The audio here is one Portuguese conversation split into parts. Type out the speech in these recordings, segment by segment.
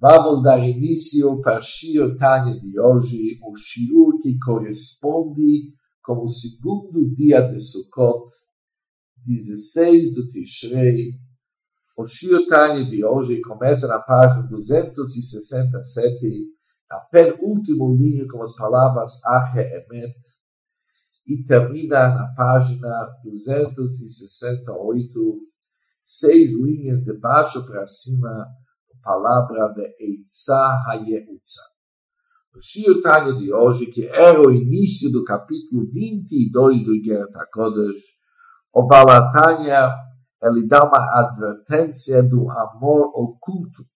Vamos dar início para Shir Tanya de hoje, o shiur que corresponde com o segundo dia de Sukkot, 16 do Tishrei. O Shir Tanya de hoje começa na página 267, na penúltima linha com as palavras Ache Emet, e termina na página 268, 6 linhas de baixo para cima, palavra Ve'etzah HaYe'utza. O Shir Tanya de hoje, que era o início do capítulo 22 do Igeret HaKodesh, o Baal HaTanya, ele dá uma advertência do amor oculto,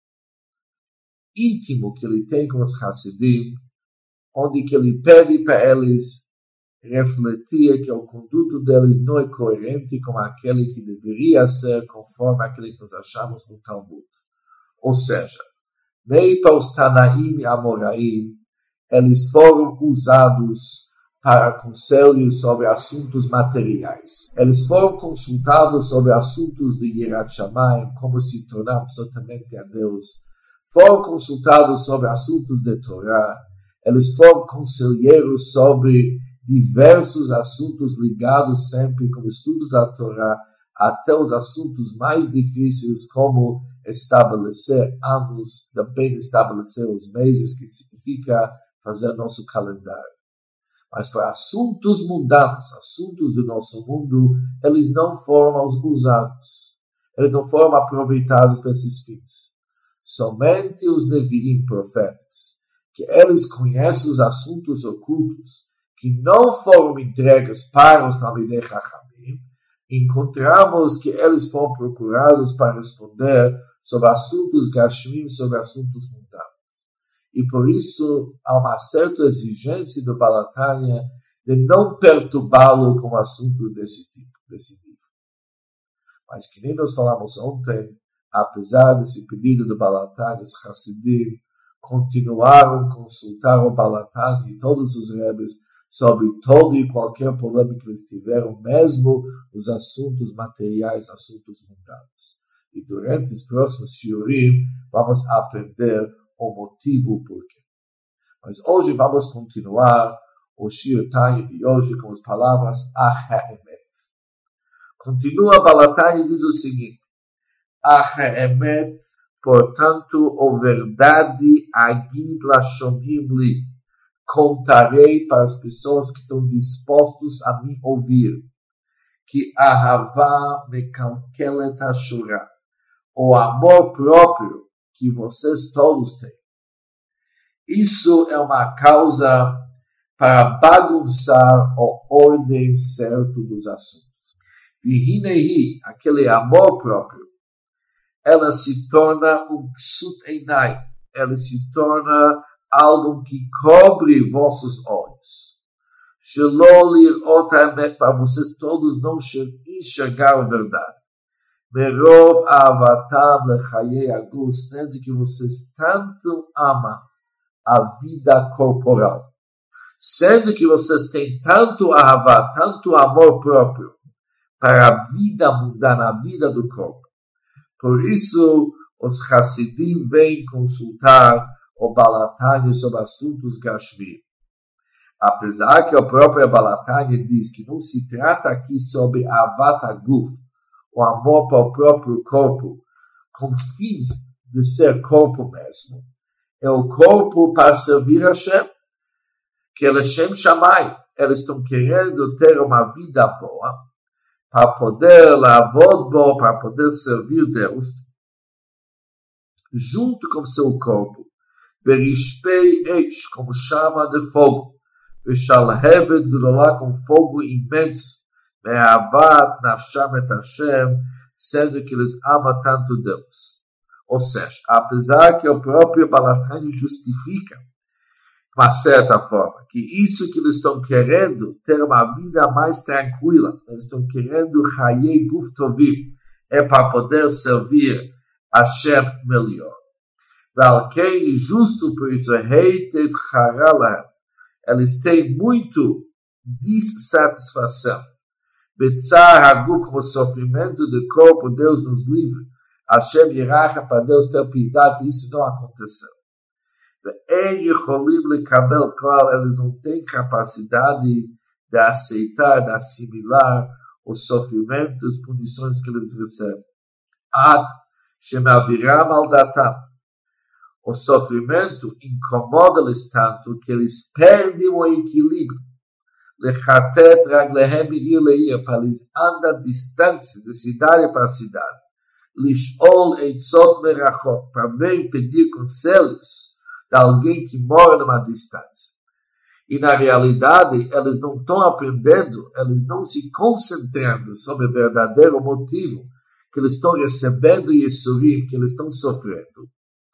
íntimo que ele tem com os Hasidim, onde que ele pede para eles refletir que o conduto deles não é coerente com aquele que deveria ser, conforme aquele que nós achamos no Talmud. Ou seja, nem para os Tanaim e Amoraim, eles foram usados para conselhos sobre assuntos materiais. Eles foram consultados sobre assuntos de Yirat Shamayim, como se tornar absolutamente a Deus. Foram consultados sobre assuntos de Torá. Eles foram conselheiros sobre diversos assuntos ligados sempre com o estudo da Torá, até os assuntos mais difíceis, como estabelecer anos, também estabelecer os meses, que significa fazer nosso calendário. Mas para assuntos mundanos, assuntos do nosso mundo, eles não foram usados. Eles não foram aproveitados para esses fins. Somente os Neviim, profetas, que eles conhecem os assuntos ocultos, que não foram entregues para os Talmidei Chachamim, encontramos que eles foram procurados para responder sobre assuntos gashmim, sobre assuntos mundanos. E por isso há uma certa exigência do Baal HaTanya de não perturbá-lo com assuntos desse tipo, desse nível. Mas que nem nós falamos ontem, apesar desse pedido do Baal HaTanya, os Hasidim continuaram a consultar o Baal HaTanya e todos os rebes sobre todo e qualquer problema que eles tiveram, mesmo os assuntos materiais, assuntos mundanos. E durante os próximos shiurim, vamos aprender o motivo porquê. Mas hoje vamos continuar o Shir Tanya de hoje com as palavras Ach HaEmet. Continua Baal HaTanya e diz o seguinte: Ach HaEmet, portanto, o verdade agid lashomim li. Contarei para as pessoas que estão dispostos a me ouvir, que Ahavá mekalkelet hashura, o amor próprio que vocês todos têm. Isso é uma causa para bagunçar a ordem certa dos assuntos. E hinehi, aquele amor próprio, ela se torna ksut einai, ela se torna algo que cobre vossos olhos. Shelolir otamet, para vocês todos não enxergar a verdade. Merov avatam lechayei aguf, sendo que vocês tanto amam a vida corporal. Sendo que vocês têm tanto ahavá, tanto amor próprio para a vida mundana, a vida do corpo. Por isso, os Hasidim vêm consultar o Baal HaTanya sobre assuntos gashmim. Apesar que o próprio Baal HaTanya diz que não se trata aqui sobre avat haguf, o amor para o próprio corpo, com fins de ser corpo mesmo. É o corpo para servir a Hashem, que é Hashem Shammai. Eles estão querendo ter uma vida boa, para poder lavod bo, para poder servir Deus, junto com seu corpo. Berishpei Eish, como chama de fogo. Beshalhevet Gdolá, com fogo imenso. Me'avat nafsham et Hashem, sendo que eles amam tanto Deus. Ou seja, apesar que o próprio Baal HaTanya justifica, de uma certa forma, que isso que eles estão querendo, ter uma vida mais tranquila, eles estão querendo Chayei Guf Tovim, é para poder servir Hashem melhor. Valquei justo por isso, Heitev Haralahem, eles têm muito dissatisfação. Betzar Haguf, como sofrimento do corpo, Deus nos livre, Hashem iracha para Deus ter piedade, isso não aconteceu. Eles não têm capacidade de aceitar, de assimilar os sofrimentos, as punições que eles recebem. O sofrimento incomoda-lhes tanto que eles perdem o equilíbrio. Para eles andar distâncias de cidade para cidade. Para bem pedir conselhos de alguém que mora numa distância. E na realidade, eles não estão aprendendo, eles não se concentrando sobre o verdadeiro motivo que eles estão recebendo Yeshurim, que eles estão sofrendo.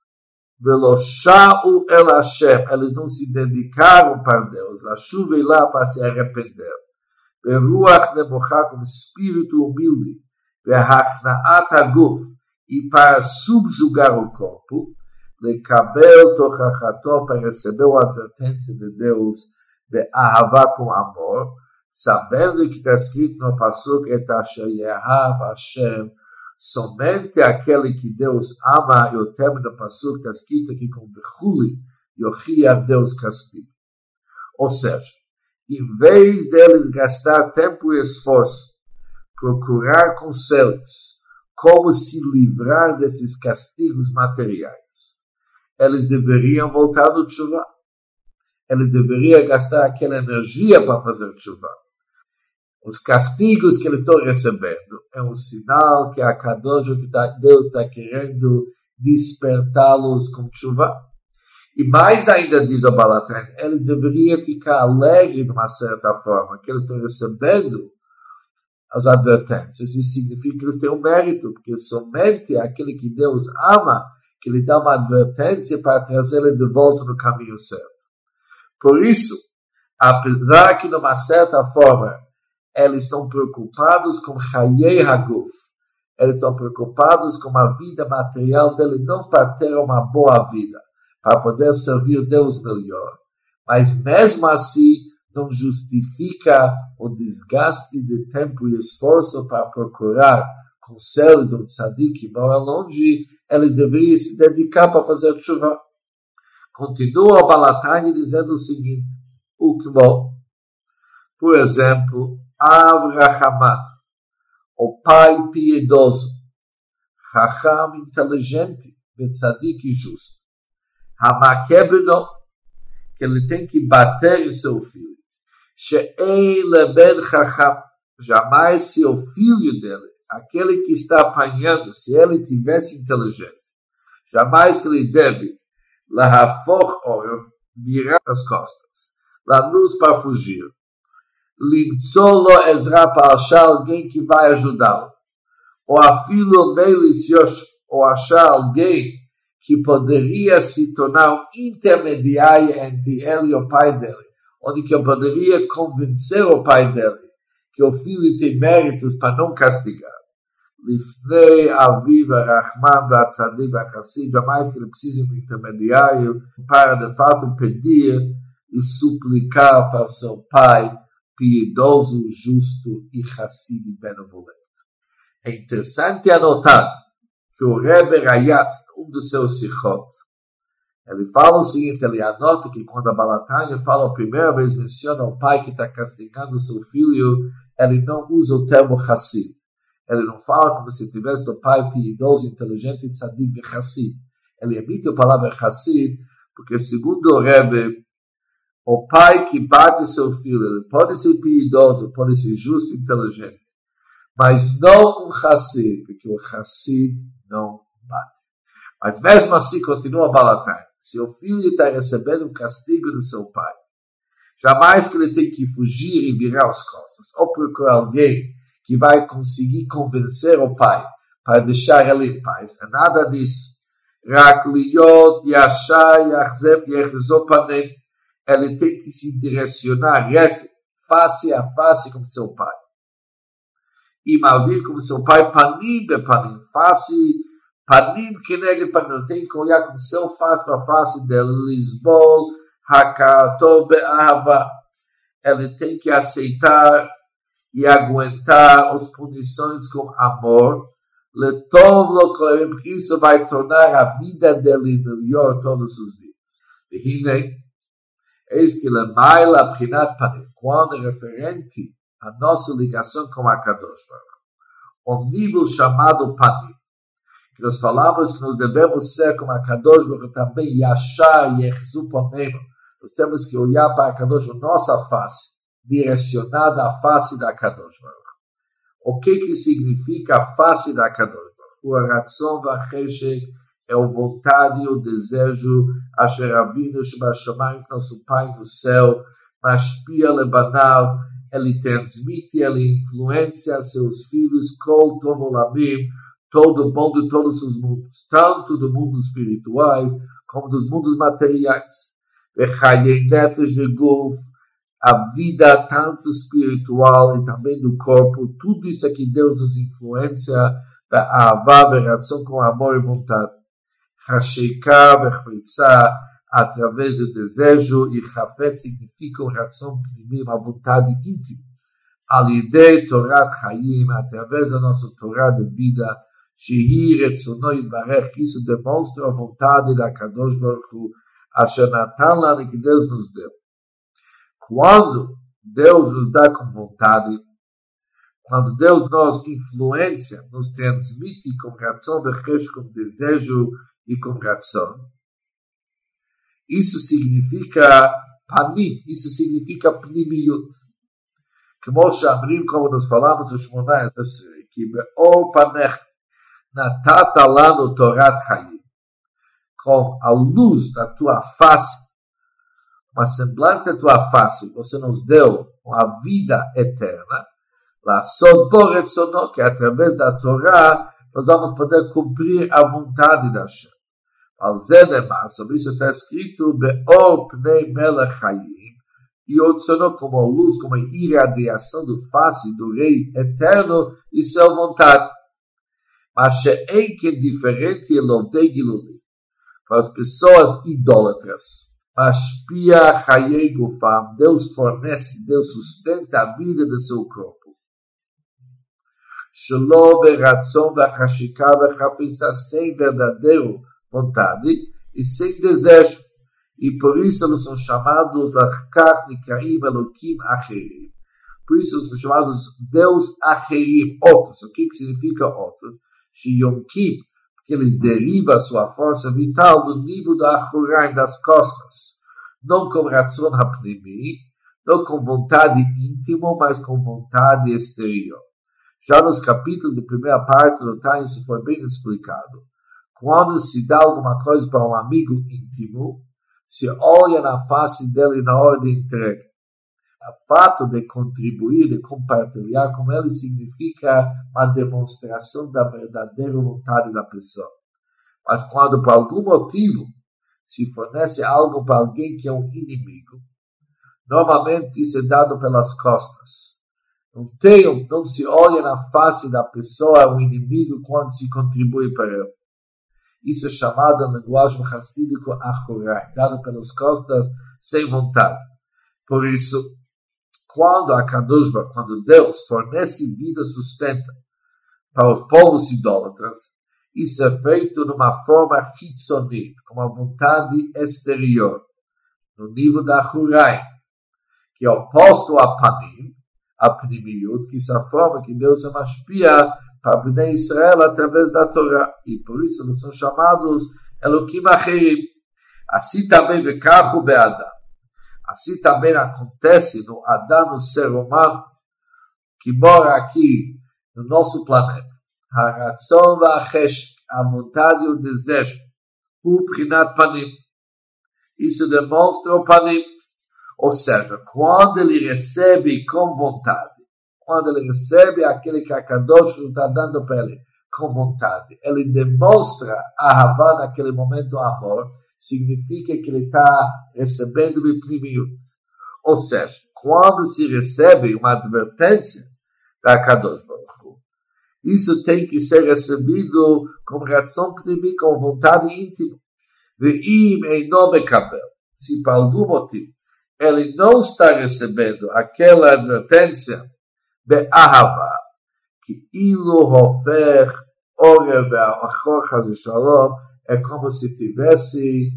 Velosha'u el Hashem, eles não se dedicaram para Deus, a chuva e lá para se arrepender. Beruach nemochá, com espírito humilde, behachna'at haguf, e para subjugar o corpo, lekabel tochachato, para receber a advertência de Deus, de ahavá com amor, sabendo que está escrito no Pasuk, et asher yehav Hashem, somente aquele que Deus ama, e o termo do Pasuk está escrito aqui com Bechuli, Yochia, Deus castiga. Ou seja, em vez deles gastar tempo e esforço, procurar conselhos, como se livrar desses castigos materiais, eles deveriam voltar do tshuva. Eles deveriam gastar aquela energia para fazer tshuva. Os castigos que eles estão recebendo é um sinal que a Kadosh, Deus está querendo despertá-los com chuva. E mais ainda, diz o Balatran, eles deveriam ficar alegres de uma certa forma, que eles estão recebendo as advertências. Isso significa que eles têm um mérito, porque somente aquele que Deus ama, que lhe dá uma advertência para trazê-lo de volta no caminho certo. Por isso, apesar que de uma certa forma, eles estão preocupados com Chayei Haguf. Eles estão preocupados com a vida material dele, não para ter uma boa vida, para poder servir Deus melhor. Mas mesmo assim, não justifica o desgaste de tempo e esforço para procurar conselhos de um tzadik que mora longe. Eles deveriam se dedicar para fazer chuva. Continua o Balatani dizendo o seguinte, por exemplo, Avrahama, o pai piedoso, Chacham inteligente, Betzadik e justo. Hamakebno, que ele tem que bater em seu filho. She'ei leben Chacham, jamais se o filho dele, aquele que está apanhando, se ele tivesse inteligente, jamais que ele deve lahafoch oro, virar as costas, lanus para fugir. Limtzolo Ezra para achar alguém que vai ajudá-lo. Ou afilo Meilitz Yosh, ou achar alguém que poderia se tornar um intermediário entre ele e o pai dele. Onde que eu poderia convencer o pai dele que o filho tem méritos para não castigar. Lifnei Aviva Rahman Vatzadik Vakassid, jamais que ele precise de um intermediário para de fato pedir e suplicar para seu pai piedoso, justo e Hassid benevolente. É interessante anotar que o Rebbe Rayatz, dos seus sichot, ele fala o seguinte, ele anota que quando a Balatanya fala a primeira vez, menciona o pai que está castigando seu filho, ele não usa o termo Hassid. Ele não fala como se tivesse o pai piedoso, inteligente, tzadik e Hassid. Ele emite a palavra Hassid, porque segundo o Rebbe, o pai que bate seu filho, ele pode ser piedoso, pode ser justo e inteligente, mas não um Hassid, porque o Hassid não bate. Mas mesmo assim, continua a Balatanya. Se o filho está recebendo um castigo do seu pai, jamais que ele tem que fugir e virar as costas, ou procurar alguém que vai conseguir convencer o pai para deixar ele em paz. É nada disso. Rak liyot yashar yachzeb yechzopanem. Ele tem que se direcionar reto, face a face com seu pai. E malvir com seu pai, panim bepanim, face, panim keneged panim. Tem que olhar com seu face para face dele, lisbol, hakato be'ahava. Ele tem que aceitar e aguentar as punições com amor, Letov lo kolim, porque isso vai tornar a vida dele melhor todos os dias. E hine, eis que lemaila prinat panim, quando é referente à nossa ligação com a Kadosh Baruch, o nível chamado panim, que nós falamos que nós devemos ser como a Kadosh Baruch também, Yashar Yechzu Ponemo, nós temos que olhar para a Kadosh Baruch, nossa face, direcionada à face da Kadosh Baruch. O que significa a face da Kadosh Baruch? O Ratzon Vacheshek é a vontade e o desejo Asher Avinu Shebashamayim, nosso Pai no céu, Mashpia Lebanav, ele transmite, ele influencia seus filhos, Kol Tov Olamim, todo o bom de todos os mundos, tanto do mundo espiritual como dos mundos materiais. Vechayei Nefesh Veguf, a vida tanto espiritual e também do corpo, tudo isso é que Deus nos influencia da Ahavá, relação com amor e vontade. Hasheika, Vechvetzá, através do desejo, e Chafet significa uma relação pnimim, uma vontade íntima. Alidei Torat Chaim, através da nossa Torá de vida, Shehi Retzono Yitbarech, que isso demonstra a vontade da Kadosh Baruch Hu, Asher Natan Lanu, que Deus nos deu. Quando Deus nos dá com vontade, quando Deus nos influencia, nos transmite com razão, com desejo e com razão, isso significa panim, isso significa pnimiyut. Como chamrim, como nós falamos, os Shmonah Esrei, que be'or panech natata lanu Torat Chaim, com a luz da tua face, uma semblância da tua face, você nos deu uma vida eterna, lá só por Retzono, que através da Torá nós vamos poder cumprir a vontade da Hashem. Al Zedemar, sobre isso está escrito, Be'or Pnei Melech Chaim, e o Retzono como luz, como irradiação do face do Rei eterno, isso é a vontade. Mas she'en que é diferente Elovdei Giluli, para as pessoas idólatras. Mashpia Chayei Gufam, Deus fornece, Deus sustenta a vida do seu corpo. Shelo Beratzon Vachashika Vachafitza, sem verdadeiro vontade e sem desejo. E por isso eles são chamados Lachkach Nikaim Elokim Acherim. Por isso eles são chamados Deus Acherim, outros. O que significa outros? Shiyonkim, que eles derivam a sua força vital do nível do Achoraim, das costas, não com Ratzon HaPnimi, não com vontade íntima, mas com vontade exterior. Já nos capítulos da primeira parte do Tânia, isso foi bem explicado. Quando se dá alguma coisa para um amigo íntimo, se olha na face dele na hora de entrega. O fato de contribuir, de compartilhar com ele, significa uma demonstração da verdadeira vontade da pessoa. Mas quando, por algum motivo, se fornece algo para alguém que é um inimigo, normalmente isso é dado pelas costas. Não se olha na face da pessoa, um inimigo, quando se contribui para ele. Isso é chamado, em linguagem hassídica, achorai, dado pelas costas, sem vontade. Por isso, quando a Kadosh Baruch, quando Deus fornece vida, sustenta para os povos idólatras, isso é feito numa forma hitzonit, com uma vontade exterior, no nível da Achorai, que é oposto a Panim, a Pnimiyut, que é a forma que Deus é mashpia para Bnei Israel através da Torá. E por isso eles são chamados Elokim Acherim. Assim também vekachu be'adam. Assim também acontece no Adão, no ser humano, que mora aqui no nosso planeta. Haratzon va'cheshek, a vontade e o desejo. O prinat panim. Isso demonstra o panim. Ou seja, quando ele recebe com vontade, quando ele recebe aquele que a Kadosh está dando para ele com vontade, ele demonstra a Havá naquele momento amor, significa que ele está recebendo o Pnimiyut. Ou seja, quando se recebe uma advertência da Kadosh Baruch Hu, isso tem que ser recebido com razão pnimi, com vontade íntima. Ve'im eino mekabel, se por algum motivo ele não está recebendo aquela advertência, be'ahava, que ilo hofer Orev Achor Chas Shalom, é como se tivesse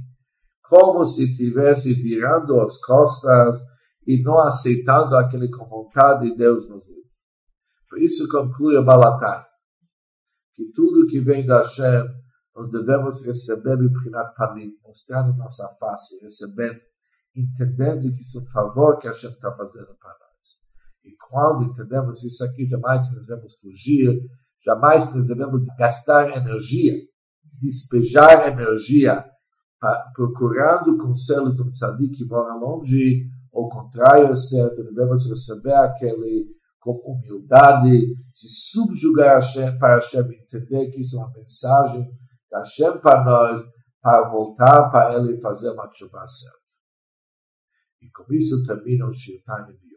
virando as costas e não aceitando aquele com vontade de Deus nos livros. Por isso conclui o Balatán, que tudo que vem da Hashem, nós devemos receber em Prinat Panim, mostrando nossa face, recebendo, entendendo que isso é um favor que Hashem está fazendo para nós. E quando entendemos isso aqui, jamais nós devemos fugir, jamais nós devemos gastar energia, despejar energia, procurando conselhos do tzadik que mora longe, ou contrário é certo, devemos receber aquele com humildade, se subjugar para Hashem, entender que isso é uma mensagem da Hashem para nós, para voltar para Ele e fazer uma tshuva certa. E com isso termina o Shir Tanya de hoje.